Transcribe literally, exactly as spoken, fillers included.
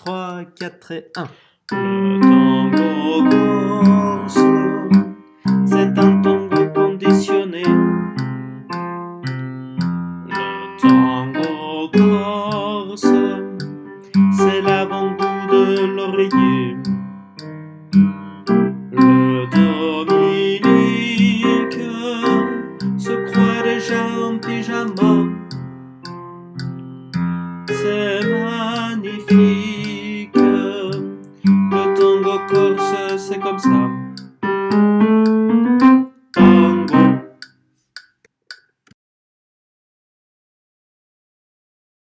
trois, quatre et un. Le tango corse, c'est un tango conditionné. Le tango corse, c'est l'avant-goût de l'oreiller. Le Dominique se croit déjà en pyjama. C'est magnifique, le tango corse, c'est comme ça.